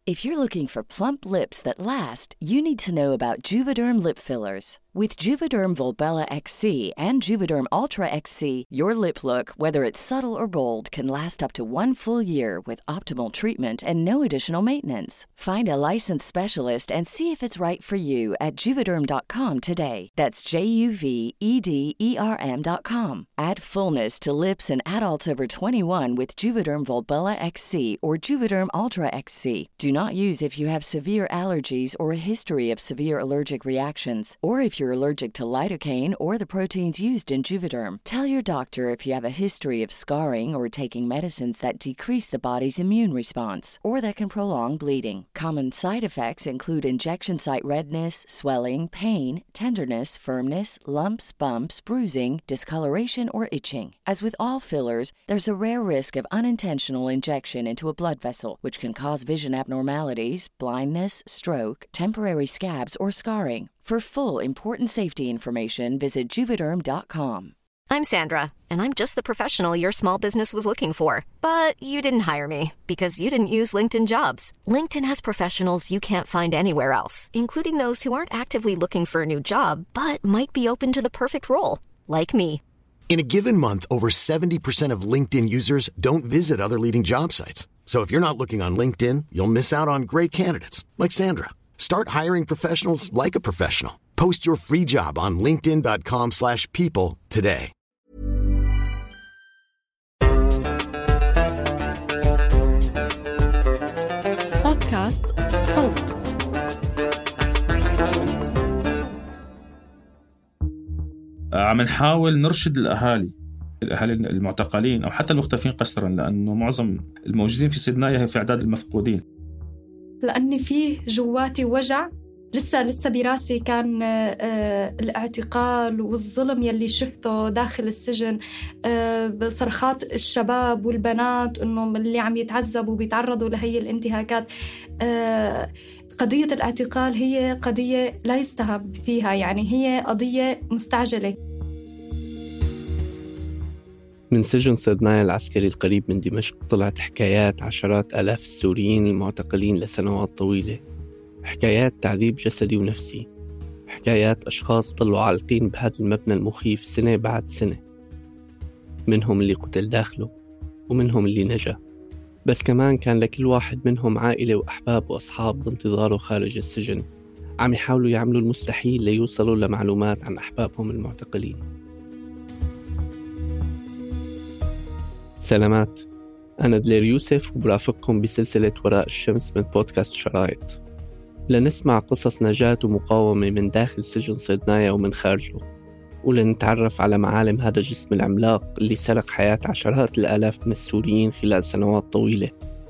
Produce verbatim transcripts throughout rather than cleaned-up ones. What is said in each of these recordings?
If you're looking for plump lips that last, you need to know about Juvederm lip fillers. With Juvederm Volbella X C and Juvederm Ultra X C, your lip look, whether it's subtle or bold, can last up to one full year with optimal treatment and no additional maintenance. Find a licensed specialist and see if it's right for you at Juvederm dot com today. That's J U V E D E R M dot com. Add fullness to lips in adults over twenty-one with Juvederm Volbella X C or Juvederm Ultra X C. Do not use if you have severe allergies or a history of severe allergic reactions, or if you're allergic to lidocaine or the proteins used in Juvederm. Tell your doctor if you have a history of scarring or taking medicines that decrease the body's immune response or that can prolong bleeding. Common side effects include injection site redness, swelling, pain, tenderness, firmness, lumps, bumps, bruising, discoloration, or itching. As with all fillers, there's a rare risk of unintentional injection into a blood vessel, which can cause vision abnormalities, blindness, stroke, temporary scabs, or scarring. For full, important safety information, visit Juvederm dot com. I'm Sandra, and I'm just the professional your small business was looking for. But you didn't hire me because you didn't use LinkedIn Jobs. LinkedIn has professionals you can't find anywhere else, including those who aren't actively looking for a new job, but might be open to the perfect role, like me. In a given month, over seventy percent of LinkedIn users don't visit other leading job sites. So if you're not looking on LinkedIn, you'll miss out on great candidates like Sandra. Start hiring professionals like a professional. Post your free job on linkedin dot com slash people today. بودكاست صوت. عم نحاول نرشد الأهالي الأهالي المعتقلين أو حتى المختفين قسرا، لأنه معظم الموجودين في سيدنايا هي في أعداد المفقودين. لأني فيه جواتي وجع لسه لسه براسي كان آه الاعتقال والظلم يلي شفته داخل السجن، آه بصرخات الشباب والبنات إنه اللي عم يتعذبوا وبيتعرضوا لهي الانتهاكات. آه قضية الاعتقال هي قضية لا يستهان فيها، يعني هي قضية مستعجلة. من سجن سيدنايا العسكري القريب من دمشق طلعت حكايات عشرات آلاف السوريين المعتقلين لسنوات طويلة، حكايات تعذيب جسدي ونفسي، حكايات أشخاص ضلوا عالقين بهذا المبنى المخيف سنة بعد سنة، منهم اللي قتل داخله ومنهم اللي نجا، بس كمان كان لكل واحد منهم عائلة وأحباب وأصحاب بانتظاره خارج السجن عم يحاولوا يعملوا المستحيل ليوصلوا لمعلومات عن أحبابهم المعتقلين. سلامات، أنا دلير يوسف وبرافقكم بسلسلة وراء الشمس من بودكاست شرايط، لنسمع قصص نجاة ومقاومة من داخل سجن سيدنايا ومن خارجه، ولنتعرف على معالم هذا الجسم العملاق اللي سرق حياة عشرات الآلاف من السوريين خلال سنوات طويلة.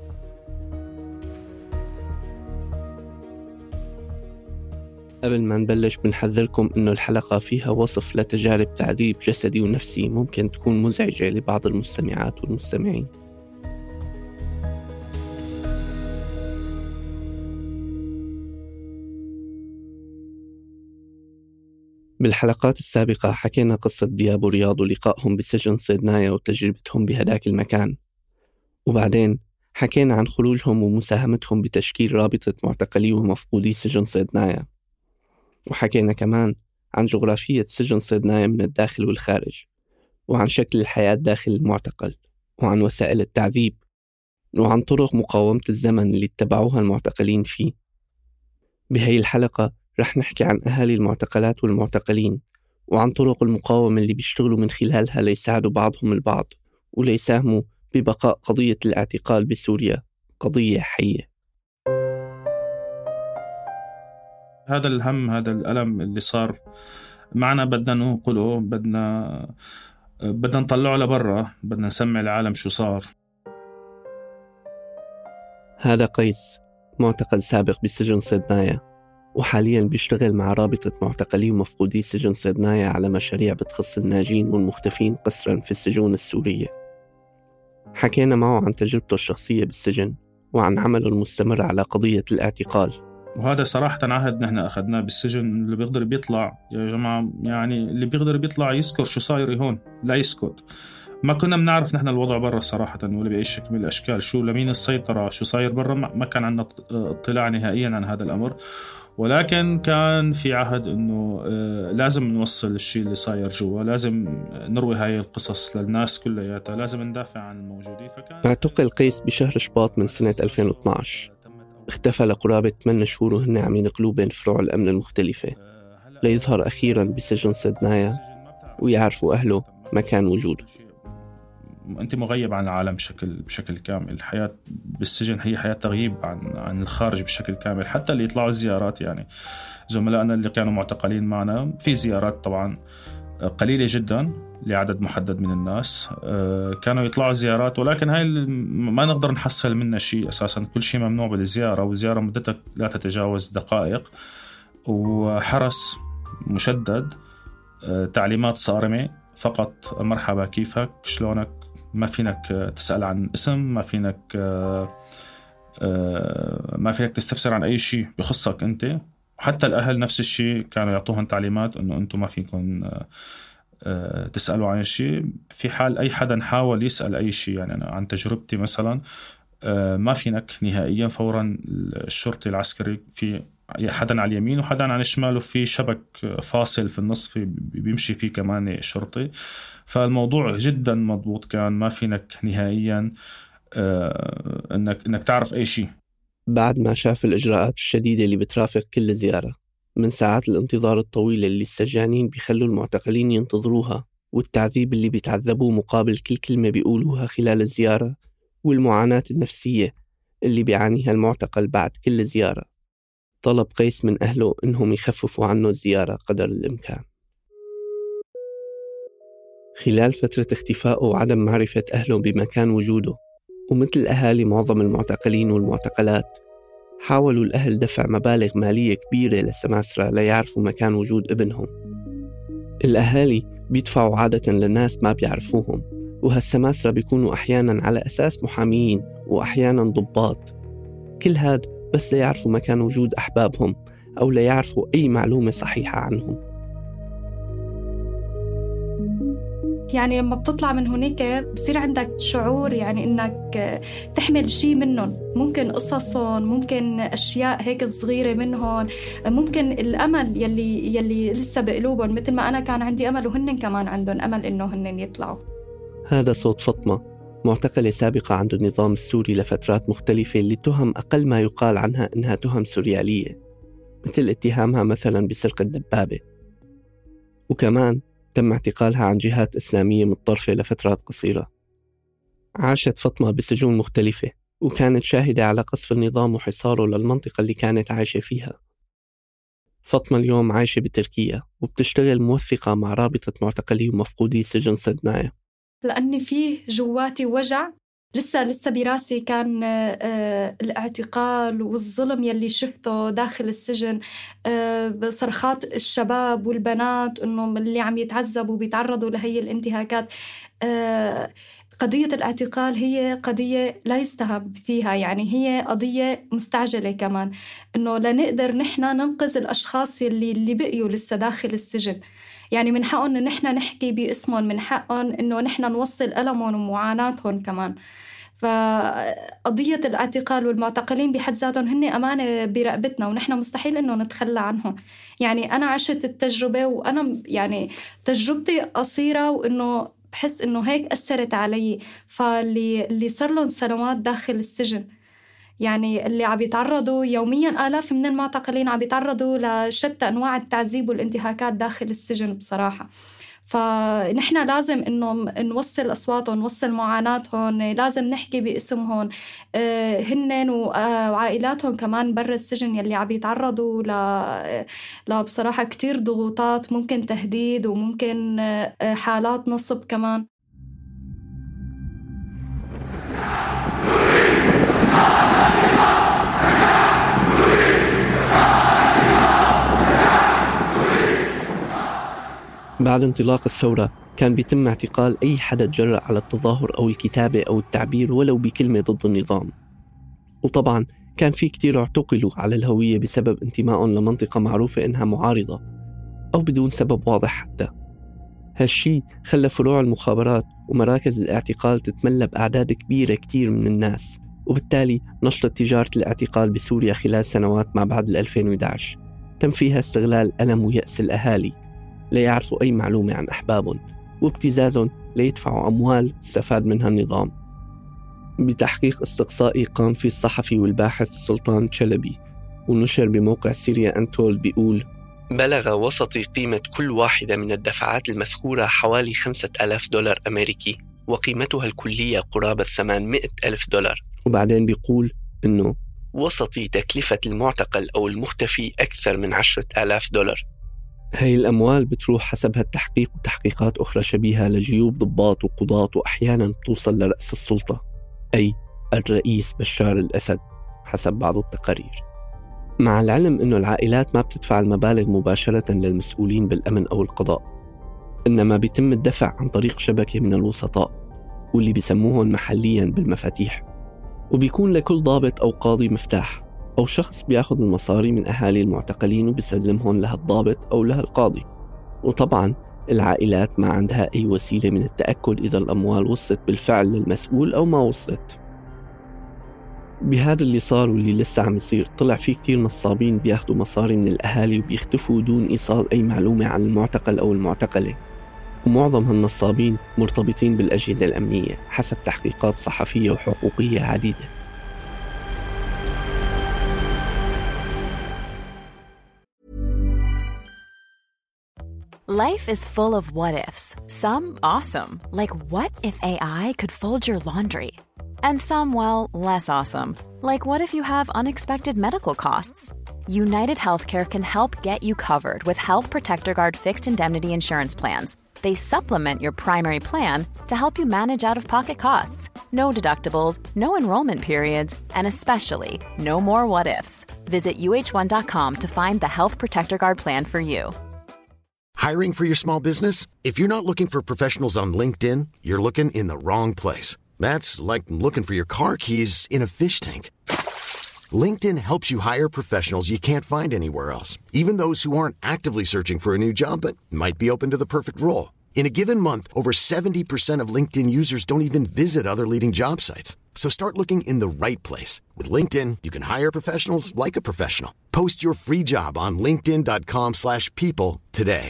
قبل ما نبلش بنحذركم إنه الحلقة فيها وصف لتجارب تعذيب جسدي ونفسي ممكن تكون مزعجة لبعض المستمعات والمستمعين. بالحلقات السابقة حكينا قصة دياب ورياض ولقائهم بسجن سيدنايا وتجربتهم بهداك المكان، وبعدين حكينا عن خروجهم ومساهمتهم بتشكيل رابطة معتقلي ومفقودي سجن سيدنايا، وحكينا كمان عن جغرافية سجن سيدنايا من الداخل والخارج، وعن شكل الحياة داخل المعتقل، وعن وسائل التعذيب، وعن طرق مقاومة الزمن اللي اتبعوها المعتقلين فيه. بهاي الحلقة رح نحكي عن أهالي المعتقلات والمعتقلين، وعن طرق المقاومة اللي بيشتغلوا من خلالها ليساعدوا بعضهم البعض وليساهموا ببقاء قضية الاعتقال بسوريا قضية حية. هذا الهم، هذا الألم اللي صار معنا بدنا ننقله، بدنا بدنا نطلعه لبرا، بدنا نسمع العالم شو صار. هذا قيس، معتقل سابق بسجن سيدنايا، وحالياً بيشتغل مع رابطة معتقلي ومفقودي سجن سيدنايا على مشاريع بتخص الناجين والمختفين قسراً في السجون السورية. حكينا معه عن تجربته الشخصية بالسجن وعن عمله المستمر على قضية الاعتقال. وهذا صراحة عهد نحن أخذناه بالسجن، اللي بيقدر بيطلع يا جماعة، يعني اللي بيقدر بيطلع يذكر شو صاير هون، لا يسكت. ما كنا بنعرف نحن الوضع برا صراحة ولا بأي شكل من الأشكال، شو لمين السيطرة، شو صاير برا، ما كان عندنا اطلاع نهائيا عن هذا الأمر. ولكن كان في عهد إنه لازم نوصل الشيء اللي صاير جوا، لازم نروي هاي القصص للناس كلياتها، لازم ندافع عن الموجودين. فكان اعتقل قيس بشهر شباط من سنة ألفين واثناشر، اختفى لقرابة ثمانية شهور وهن عم ينقلوه بين فروع الأمن المختلفة ليظهر أخيراً بسجن سيدنايا ويعرفوا أهله مكان وجوده. أنت مغيب عن العالم بشكل بشكل كامل. الحياة بالسجن هي حياة تغييب عن عن الخارج بشكل كامل. حتى اللي يطلعوا الزيارات، يعني زملائنا اللي كانوا معتقلين معنا في زيارات طبعاً قليلة جداً لعدد محدد من الناس كانوا يطلعوا زيارات، ولكن هاي ما نقدر نحصل منها شيء أساساً. كل شيء ممنوع بالزيارة، والزيارة مدتها لا تتجاوز دقائق، وحرس مشدد، تعليمات صارمة فقط، مرحبا كيفك شلونك، ما فينك تسأل عن اسم، ما فينك ما فينك تستفسر عن أي شيء بخصك أنت. وحتى الأهل نفس الشيء كانوا يعطوهم تعليمات أنه أنتم ما فيكم تسألوا عن شيء. في حال أي حدا حاول يسأل أي شيء، يعني أنا عن تجربتي مثلا، ما فينك نهائيا. فورا الشرطي العسكري، في حدا على اليمين وحدا على الشمال، وفي شبك فاصل في النص في بيمشي فيه كمان شرطي. فالموضوع جدا مضبوط كان، ما فينك نهائيا انك انك تعرف اي شيء. بعد ما شاف الإجراءات الشديدة اللي بترافق كل زيارة، من ساعات الانتظار الطويلة اللي السجانين بيخلوا المعتقلين ينتظروها، والتعذيب اللي بيتعذبوه مقابل كل كلمة بيقولوها خلال الزيارة، والمعاناة النفسية اللي بيعانيها المعتقل بعد كل زيارة، طلب قيس من أهله إنهم يخففوا عنه الزيارة قدر الإمكان. خلال فترة اختفائه وعدم معرفة أهله بمكان وجوده، ومثل أهالي معظم المعتقلين والمعتقلات، حاولوا الأهل دفع مبالغ مالية كبيرة للسماسرة ليعرفوا مكان وجود ابنهم. الأهالي بيدفعوا عادة للناس ما بيعرفوهم، وهالسماسرة بيكونوا أحياناً على أساس محاميين وأحياناً ضباط، كل هاد بس ليعرفوا مكان وجود أحبابهم أو ليعرفوا أي معلومة صحيحة عنهم. يعني لما بتطلع من هناك بصير عندك شعور يعني إنك تحمل شيء منهم، ممكن قصصهم، ممكن أشياء هيك صغيرة منهم، ممكن الأمل يلي يلي لسه بقلوبهم، مثل ما أنا كان عندي أمل وهن كمان عندهم أمل إنه هن يطلعوا. هذا صوت فاطمة، معتقلة سابقة عند النظام السوري لفترات مختلفة، اللي تهم أقل ما يقال عنها إنها تهم سوريالية، مثل اتهامها مثلا بسرقة دبابة. وكمان تم اعتقالها عن جهات إسلامية متطرفة لفترات قصيرة. عاشت فاطمة بسجون مختلفة، وكانت شاهدة على قصف النظام وحصاره للمنطقة اللي كانت عايشة فيها. فاطمة اليوم عايشة بتركيا وبتشتغل موثقة مع رابطة معتقلي ومفقودي سجن سيدنايا. لأني فيه جواتي وجع لسه لسه براسي، كان آه الاعتقال والظلم يلي شفته داخل السجن، آه بصرخات الشباب والبنات إنه اللي عم يتعذبوا وبيتعرضوا لهي الانتهاكات. آه قضية الاعتقال هي قضية لا يستهان فيها، يعني هي قضية مستعجلة كمان، إنه لنقدر نحن ننقذ الأشخاص اللي اللي بقيوا لسه داخل السجن. يعني من حقهم إن نحن نحكي باسمهم، من حقهم إنه نحن نوصل ألمهم ومعاناتهم كمان. فقضية الاعتقال والمعتقلين بحد ذاتهم هن أمانة برقبتنا، ونحن مستحيل إنه نتخلى عنهم. يعني أنا عشت التجربة، وأنا يعني تجربتي قصيرة، وإنه بحس إنه هيك أثرت علي. فاللي اللي صار لهم سنوات داخل السجن، يعني اللي عم يتعرضوا يومياً، آلاف من المعتقلين عم يتعرضوا لشتى أنواع التعذيب والانتهاكات داخل السجن بصراحة. فنحن لازم إنه نوصل أصواتهم، نوصل معاناتهم، لازم نحكي باسمهم، آه هنن وعائلاتهم كمان برا السجن يلي عم يتعرضوا ل بصراحة كتير ضغوطات، ممكن تهديد وممكن آه حالات نصب كمان. بعد انطلاق الثورة كان بيتم اعتقال أي حدا تجرأ على التظاهر أو الكتابة أو التعبير ولو بكلمة ضد النظام. وطبعا كان في كتير اعتقلوا على الهوية بسبب انتمائهم لمنطقة معروفة إنها معارضة أو بدون سبب واضح حتى. هالشي خلى فروع المخابرات ومراكز الاعتقال تتملى بأعداد كبيرة كتير من الناس، وبالتالي نشطت تجارة الاعتقال بسوريا خلال سنوات ما بعد ألفين وإحدى عشر تم فيها استغلال ألم ويأس الأهالي ليعرفوا أي معلومة عن أحبابهم وابتزازهم ليدفعوا أموال استفاد منها النظام. بتحقيق استقصائي قام فيه الصحفي والباحث سلطان شلبي ونشر بموقع سيريا أنتول بيقول: بلغ وسطي قيمة كل واحدة من الدفعات المذكورة حوالي خمسة ألاف دولار أمريكي، وقيمتها الكلية قرابة ثمانمائة ألف دولار. وبعدين بيقول إنه وسطي تكلفة المعتقل أو المختفي أكثر من عشرة آلاف دولار. هاي الأموال بتروح حسب هالتحقيق وتحقيقات أخرى شبيهة لجيوب ضباط وقضاة، وأحيانا بتوصل لرأس السلطة أي الرئيس بشار الأسد حسب بعض التقارير. مع العلم أنه العائلات ما بتدفع المبالغ مباشرة للمسؤولين بالأمن أو القضاء، إنما بيتم الدفع عن طريق شبكة من الوسطاء واللي بيسموهم محليا بالمفاتيح، وبيكون لكل ضابط أو قاضي مفتاح أو شخص بياخد المصاري من أهالي المعتقلين وبيسلمهم لها الضابط أو لها القاضي. وطبعا العائلات ما عندها أي وسيلة من التأكد إذا الأموال وصلت بالفعل للمسؤول أو ما وصلت. بهذا اللي صار واللي لسه عم يصير، طلع فيه كتير نصابين بياخدوا مصاري من الأهالي وبيختفوا دون إيصال أي معلومة عن المعتقل أو المعتقلة، ومعظم هالنصابين مرتبطين بالأجهزة الأمنية حسب تحقيقات صحفية وحقوقية عديدة. Life is full of what-ifs. Some awesome, like what if A I could fold your laundry? And some, well, less awesome, like what if you have unexpected medical costs? United Healthcare can help get you covered with Health Protector Guard fixed indemnity insurance plans. They supplement your primary plan to help you manage out-of-pocket costs. No deductibles, no enrollment periods, and especially no more what-ifs. Visit U H one dot com to find the Health Protector Guard plan for you. Hiring for your small business? If you're not looking for professionals on LinkedIn, you're looking in the wrong place. That's like looking for your car keys in a fish tank. LinkedIn helps you hire professionals you can't find anywhere else, even those who aren't actively searching for a new job but might be open to the perfect role. In a given month, over seventy percent of LinkedIn users don't even visit other leading job sites. So start looking in the right place. With LinkedIn, you can hire professionals like a professional. Post your free job on linkedin dot com slash people today.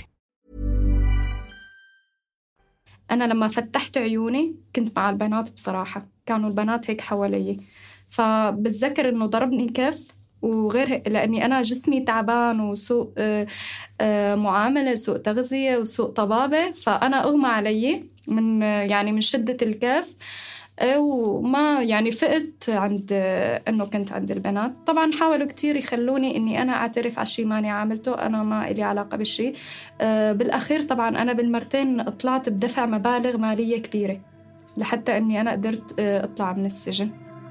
أنا لما فتحت عيوني كنت مع البنات بصراحة، كانوا البنات هيك حوالي، فبتذكر إنه ضربني كف وغير هيك، لأني أنا جسمي تعبان وسوء معاملة، سوء تغذية وسوء طبابة، فأنا أغمى علي من يعني من شدة الكف، وما يعني فقت عند إنه كنت عند البنات. طبعا حاولوا كتير يخلوني إني أنا أعترف على شيء ماني عاملته، أنا ما إلي علاقة بالشيء. بالأخير طبعا أنا بالمرتين طلعت بدفع مبالغ مالية كبيرة لحتى إني أنا قدرت أطلع من السجن.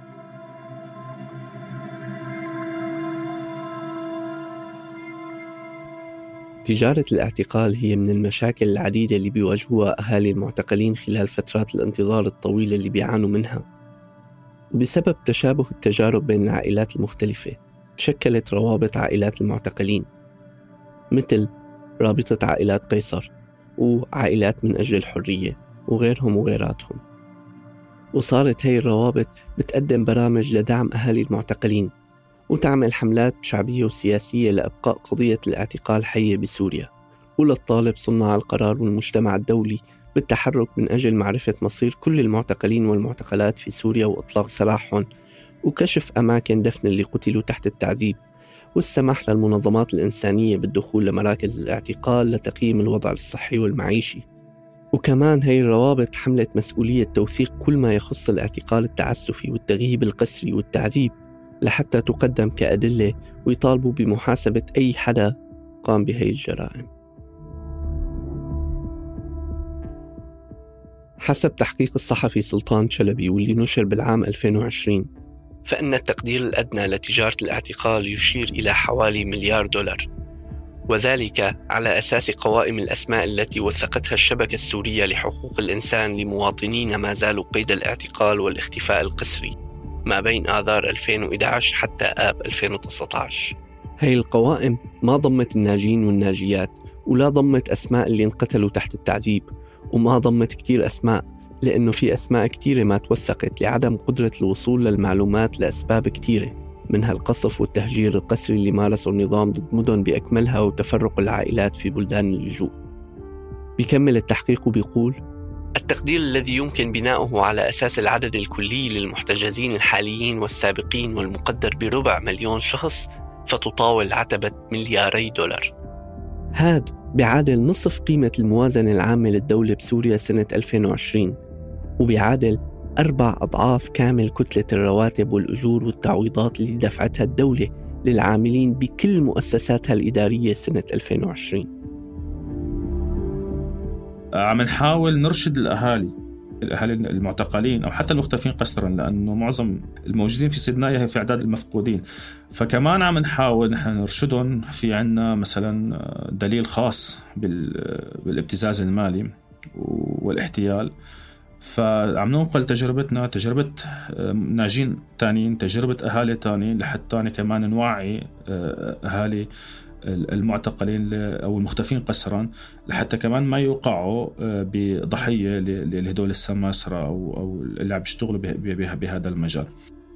تجارة الاعتقال هي من المشاكل العديدة اللي بيواجهوها أهالي المعتقلين خلال فترات الانتظار الطويلة اللي بيعانوا منها. وبسبب تشابه التجارب بين العائلات المختلفة تشكلت روابط عائلات المعتقلين، مثل رابطة عائلات قيصر وعائلات من أجل الحرية وغيرهم وغيراتهم. وصارت هاي الروابط بتقدم برامج لدعم أهالي المعتقلين وتعمل حملات شعبية وسياسية لإبقاء قضية الاعتقال حية بسوريا، وللطالب صناع القرار والمجتمع الدولي بالتحرك من أجل معرفة مصير كل المعتقلين والمعتقلات في سوريا وإطلاق سراحهم، وكشف أماكن دفن اللي قتلوا تحت التعذيب، والسماح للمنظمات الإنسانية بالدخول لمراكز الاعتقال لتقييم الوضع الصحي والمعيشي. وكمان هاي الروابط حملت مسؤولية توثيق كل ما يخص الاعتقال التعسفي والتغييب القسري والتعذيب لحتى تقدم كأدلة ويطالبوا بمحاسبة أي حدا قام بهاي الجرائم. حسب تحقيق الصحفي سلطان شلبي واللي نشر بالعام ألفين وعشرين، فإن التقدير الأدنى لتجارة الاعتقال يشير إلى حوالي مليار دولار، وذلك على أساس قوائم الأسماء التي وثقتها الشبكة السورية لحقوق الإنسان لمواطنين ما زالوا قيد الاعتقال والاختفاء القسري ما بين آذار ألفين وإحدى عشر حتى آب ألفين وتسعة عشر. هاي القوائم ما ضمت الناجين والناجيات ولا ضمت أسماء اللي انقتلوا تحت التعذيب، وما ضمت كتير أسماء لأنه في أسماء كتيرة ما توثقت لعدم قدرة الوصول للمعلومات لأسباب كتيرة، منها القصف والتهجير القسري اللي مارسه النظام ضد مدن بأكملها وتفرق العائلات في بلدان اللجوء. بيكمل التحقيق وبيقول: التقدير الذي يمكن بناؤه على أساس العدد الكلي للمحتجزين الحاليين والسابقين والمقدر بربع مليون شخص فتطاول عتبة ملياري دولار. هاد بيعادل نصف قيمة الموازنة العامة للدولة بسوريا سنة ألفين وعشرين، وبيعادل أربع أضعاف كامل كتلة الرواتب والأجور والتعويضات اللي دفعتها الدولة للعاملين بكل مؤسساتها الإدارية سنة ألفين وعشرين. عم نحاول نرشد الأهالي الأهالي المعتقلين أو حتى المختفين قسرا، لأنه معظم الموجودين في سيدنايا هي في أعداد المفقودين، فكمان عم نحاول نحن نرشدهم. في عنا مثلا دليل خاص بالابتزاز المالي والاحتيال، فعم ننقل تجربتنا، تجربة ناجين تانيين، تجربة أهالي تانيين، لحتى كمان نوعي أهالي المعتقلين أو المختفين قسرا، لحتى كمان ما يوقعوا بضحية لهدول السماسرة أو أو اللي عم يشتغلوا بهذا المجال.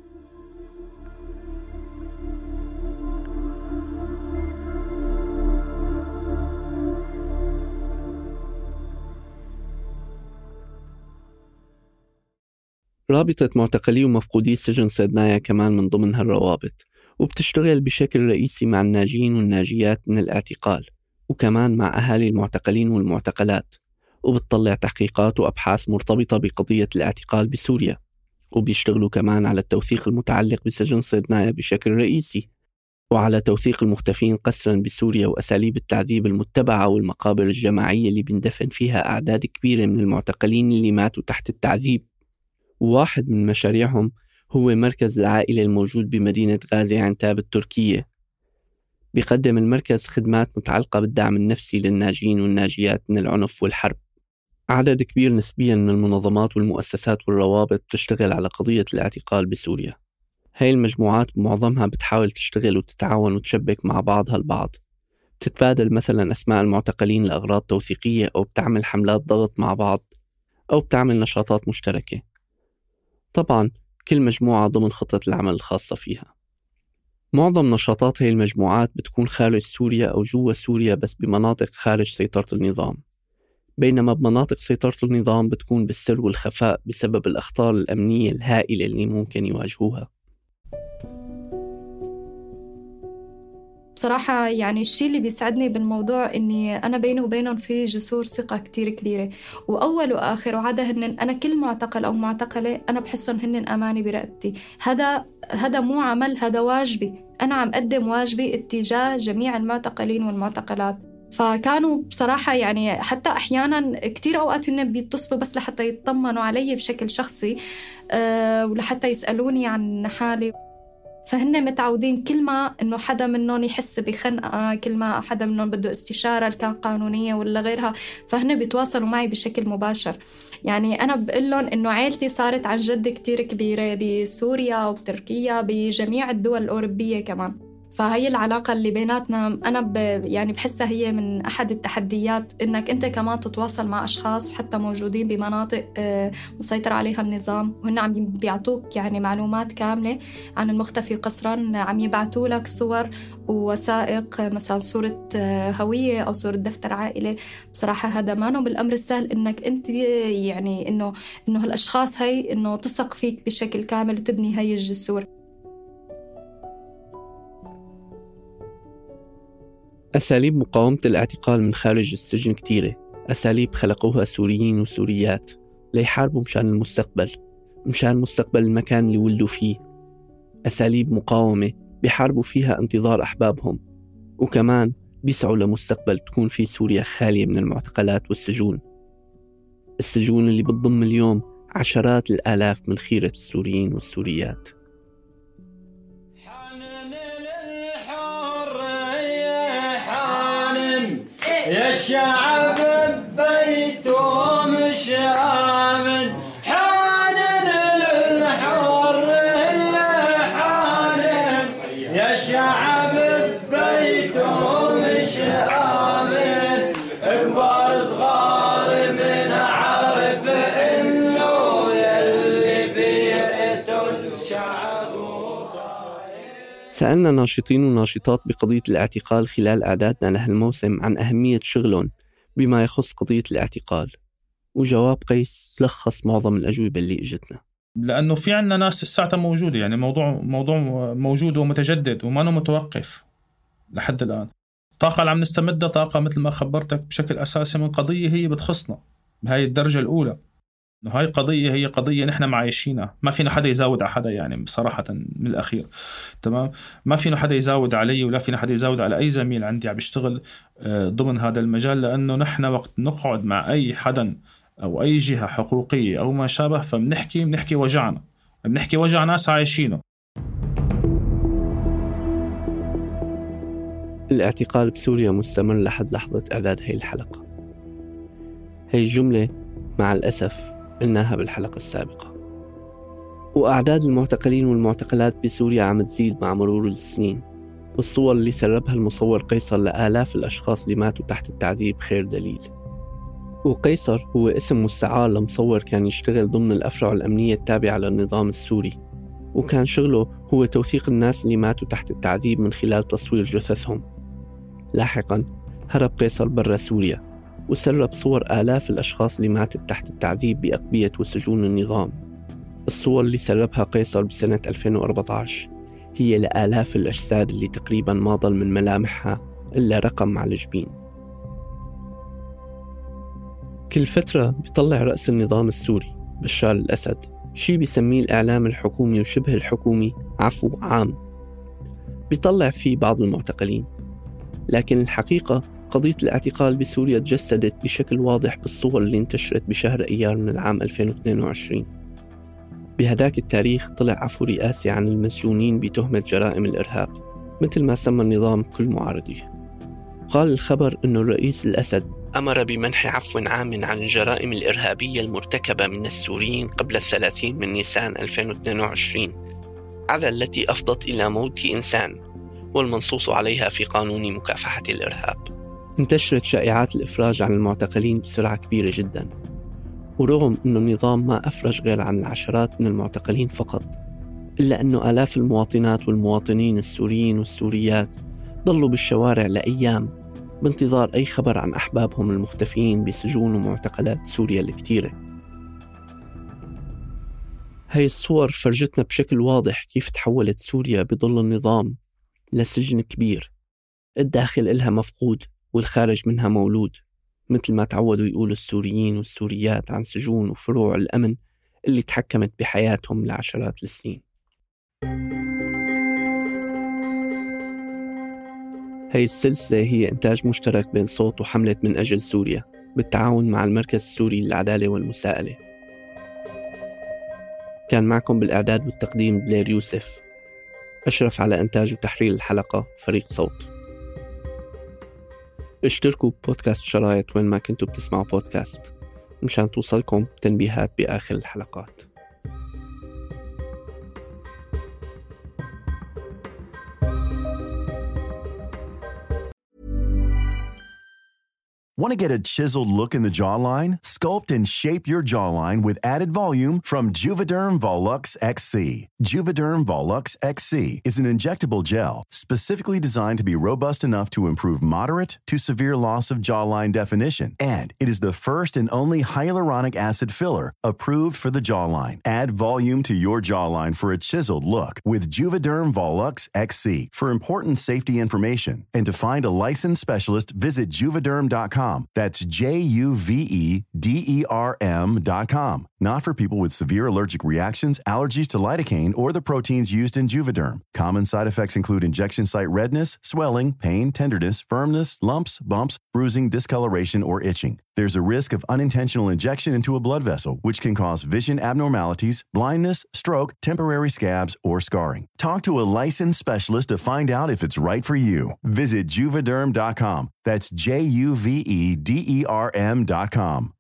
رابطة معتقلي ومفقودي سجن صيدنايا كمان من ضمن هالروابط، وبتشتغل بشكل رئيسي مع الناجين والناجيات من الاعتقال، وكمان مع أهالي المعتقلين والمعتقلات، وبتطلع تحقيقات وأبحاث مرتبطة بقضية الاعتقال بسوريا، وبيشتغلوا كمان على التوثيق المتعلق بسجن صيدنايا بشكل رئيسي، وعلى توثيق المختفين قسرا بسوريا وأساليب التعذيب المتبعة والمقابر الجماعية اللي بندفن فيها أعداد كبيرة من المعتقلين اللي ماتوا تحت التعذيب. وواحد من مشاريعهم هو مركز العائلة الموجود بمدينة غازي عنتاب التركية. بيقدم المركز خدمات متعلقة بالدعم النفسي للناجين والناجيات من العنف والحرب. عدد كبير نسبيا من المنظمات والمؤسسات والروابط تشتغل على قضية الاعتقال بسوريا. هاي المجموعات بمعظمها بتحاول تشتغل وتتعاون وتشبك مع بعضها البعض، بتتبادل مثلا أسماء المعتقلين لأغراض توثيقية، أو بتعمل حملات ضغط مع بعض، أو بتعمل نشاطات مشتركة. طبعا كل مجموعة ضمن خطة العمل الخاصة فيها. معظم نشاطات هاي المجموعات بتكون خارج سوريا أو جوا سوريا، بس بمناطق خارج سيطرة النظام، بينما بمناطق سيطرة النظام بتكون بالسر والخفاء بسبب الأخطار الأمنية الهائلة اللي ممكن يواجهوها. بصراحة يعني الشيء اللي بيسعدني بالموضوع إني أنا بيني وبينهم في جسور ثقة كتير كبيرة، وأول وآخر وعادة هن أنا كل معتقل أو معتقلة أنا بحسهم هن أماني برقبتي. هذا هذا مو عمل، هذا واجبي، أنا عم أقدم واجبي اتجاه جميع المعتقلين والمعتقلات. فكانوا بصراحة يعني حتى أحيانا كتير أوقات هن بيتصلوا بس لحتى يطمنوا علي بشكل شخصي، أه ولحتى يسألوني عن حالي. فهن متعودين كل ما إنه حدا منهم يحس بخنقة، كل ما حدا منهم بده استشارة كان قانونية ولا غيرها، فهن بيتواصلوا معي بشكل مباشر. يعني أنا بقول لهم إنه عائلتي صارت عن جد كتير كبيرة بسوريا وبتركيا، بجميع الدول الأوروبية كمان. فهي العلاقة اللي بيناتنا أنا ب يعني بحسها هي من أحد التحديات، إنك أنت كمان تتواصل مع أشخاص وحتى موجودين بمناطق مسيطر عليها النظام، وهن عم بيعطوك يعني معلومات كاملة عن المختفي قسرا، عم يبعتوا لك صور ووثائق، مثلا صورة هوية أو صورة دفتر عائلة. بصراحة هذا ما نو بالأمر السهل إنك أنت يعني إنه إنه هالأشخاص هاي إنه تثق فيك بشكل كامل وتبني هاي الجسور. أساليب مقاومة الاعتقال من خارج السجن كتيرة، أساليب خلقوها سوريين وسوريات ليحاربوا مشان المستقبل، مشان مستقبل المكان اللي ولدوا فيه. أساليب مقاومة بيحاربوا فيها انتظار أحبابهم، وكمان بيسعوا لمستقبل تكون فيه سوريا خالية من المعتقلات والسجون، السجون اللي بتضم اليوم عشرات الآلاف من خيرة السوريين والسوريات. يا الشعب ببيته مش آمن، حانن للحرية حانن، يا الشعب ببيته مش آمن، سألنا ناشطين وناشطات بقضية الاعتقال خلال إعدادنا لهالموسم عن أهمية شغلهم بما يخص قضية الاعتقال، وجواب قيس لخص معظم الأجوبة اللي إجتنا. لأنه في عنا ناس الساعة موجودة، يعني موضوع موضوع موجود ومتجدد وما أنه متوقف لحد الآن. الطاقة اللي عم نستمدها طاقة مثل ما خبرتك بشكل أساسي من قضية هي بتخصنا بهاي الدرجة الأولى، إنه هاي قضية هي قضية نحن معايشينها، ما فينا حدا يزاود على حدا يعني بصراحة من الأخير. تمام، ما فينا حدا يزاود علي ولا فينا حدا يزاود على أي زميل عندي عم بيشتغل ضمن هذا المجال، لأنه نحن وقت نقعد مع أي حدا أو أي جهة حقوقية أو ما شابه فبنحكي بنحكي وجعنا، بنحكي وجع ناس عايشينه. الاعتقال بسوريا مستمر لحد لحظة إعداد هاي الحلقة. هاي الجملة مع الأسف قلناها بالحلقة السابقة. وأعداد المعتقلين والمعتقلات بسوريا عم تزيد مع مرور السنين، والصور اللي سربها المصور قيصر لآلاف الأشخاص اللي ماتوا تحت التعذيب خير دليل. وقيصر هو اسم مستعار لمصور كان يشتغل ضمن الأفرع الأمنية التابعة للنظام السوري، وكان شغله هو توثيق الناس اللي ماتوا تحت التعذيب من خلال تصوير جثثهم. لاحقاً هرب قيصر برا سوريا وسرب صور آلاف الأشخاص اللي ماتت تحت التعذيب بأقبية وسجون النظام. الصور اللي سربها قيصر بسنة ألفين وأربعة عشر هي لآلاف الأجساد اللي تقريباً ما ضل من ملامحها إلا رقم على الجبين. كل فترة بيطلع رأس النظام السوري بشار الأسد شي بيسميه الإعلام الحكومي وشبه الحكومي عفو عام، بيطلع فيه بعض المعتقلين، لكن الحقيقة قضية الاعتقال بسوريا تجسدت بشكل واضح بالصور اللي انتشرت بشهر أيار من العام ألفين واثنين وعشرين. بهداك التاريخ طلع عفو رئاسي عن المسجونين بتهمة جرائم الإرهاب مثل ما سمى النظام كل معارضيه. قال الخبر أن الرئيس الأسد أمر بمنح عفو عام عن الجرائم الإرهابية المرتكبة من السوريين قبل الثلاثين من نيسان ألفين واثنين وعشرين، على التي أفضت إلى موت إنسان والمنصوص عليها في قانون مكافحة الإرهاب. انتشرت شائعات الإفراج عن المعتقلين بسرعة كبيرة جدا، ورغم أن النظام ما أفرج غير عن العشرات من المعتقلين فقط، إلا أنه آلاف المواطنات والمواطنين السوريين والسوريات ضلوا بالشوارع لأيام بانتظار أي خبر عن أحبابهم المختفيين بسجون ومعتقلات سوريا الكتيرة. هاي الصور فرجتنا بشكل واضح كيف تحولت سوريا بظل النظام لسجن كبير، الداخل إلها مفقود والخارج منها مولود، مثل ما تعودوا يقولوا السوريين والسوريات عن سجون وفروع الأمن اللي تحكمت بحياتهم لعشرات السنين. هاي السلسلة هي إنتاج مشترك بين صوت وحملة من أجل سوريا بالتعاون مع المركز السوري للعدالة والمساءلة. كان معكم بالإعداد والتقديم بلير يوسف، أشرف على إنتاج وتحرير الحلقة فريق صوت. اشتركوا ببودكاست شرايط وين ما كنتوا بتسمعوا بودكاست مشان توصلكم تنبيهات بآخر الحلقات. Want to get a chiseled look in the jawline? Sculpt and shape your jawline with added volume from Juvederm Volux X C. Juvederm Volux X C is an injectable gel specifically designed to be robust enough to improve moderate to severe loss of jawline definition. And it is the first and only hyaluronic acid filler approved for the jawline. Add volume to your jawline for a chiseled look with Juvederm Volux X C. For important safety information and to find a licensed specialist, visit juvederm dot com. That's J U V E D E R M dot com. Not for people with severe allergic reactions, allergies to lidocaine, or the proteins used in Juvederm. Common side effects include injection site redness, swelling, pain, tenderness, firmness, lumps, bumps, bruising, discoloration, or itching. There's a risk of unintentional injection into a blood vessel, which can cause vision abnormalities, blindness, stroke, temporary scabs, or scarring. Talk to a licensed specialist to find out if it's right for you. Visit Juvederm dot com. That's J U V E D E R M dot com.